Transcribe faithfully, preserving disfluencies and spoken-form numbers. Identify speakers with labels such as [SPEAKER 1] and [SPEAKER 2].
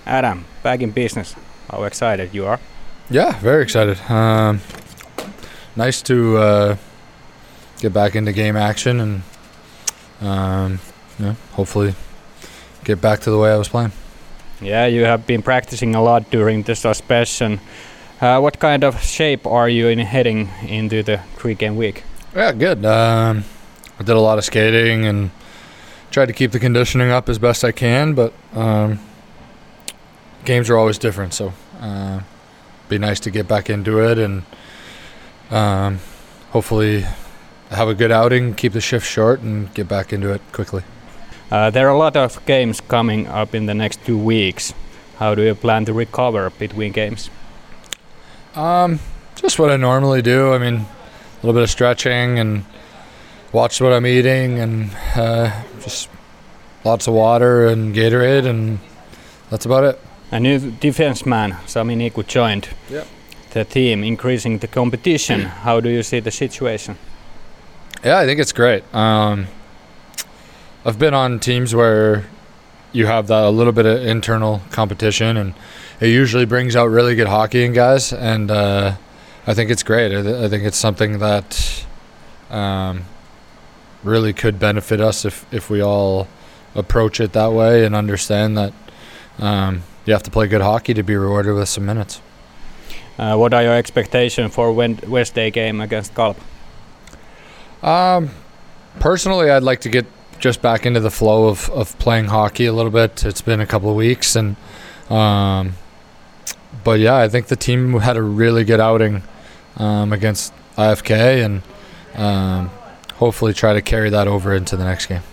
[SPEAKER 1] Adam, back in business. How excited you are?
[SPEAKER 2] Yeah, very excited. Um, nice to uh, get back into game action and um, yeah, hopefully get back to the way I was playing.
[SPEAKER 1] Yeah, you have been practicing a lot during the suspension. Uh, what kind of shape are you in heading into the three-game week?
[SPEAKER 2] Yeah, good. Um, I did a lot of skating and tried to keep the conditioning up as best I can, but um, games are always different, so uh, be nice to get back into it and um, hopefully have a good outing, keep the shift short, and get back into it quickly.
[SPEAKER 1] Uh, there are a lot of games coming up in the next two weeks. How do you plan to recover between games?
[SPEAKER 2] Um, just what I normally do. I mean, a little bit of stretching and watch what I'm eating and uh, just lots of water and Gatorade, and that's about it.
[SPEAKER 1] A new defenseman, Sami Niku, joined
[SPEAKER 2] yep.
[SPEAKER 1] the team, increasing the competition. How do you see the situation?
[SPEAKER 2] Yeah, I think it's great. Um, I've been on teams where you have that a little bit of internal competition, and it usually brings out really good hockey in guys, and uh, I think it's great. I, th- I think it's something that um, really could benefit us if, if we all approach it that way and understand that um, you have to play good hockey to be rewarded with some minutes.
[SPEAKER 1] Uh, what are your expectations for Wednesday game against Kalpa?
[SPEAKER 2] Um, personally, I'd like to get just back into the flow of, of playing hockey a little bit. It's been a couple of weeks, and um, but yeah, I think the team had a really good outing um, against I F K, and um, hopefully try to carry that over into the next game.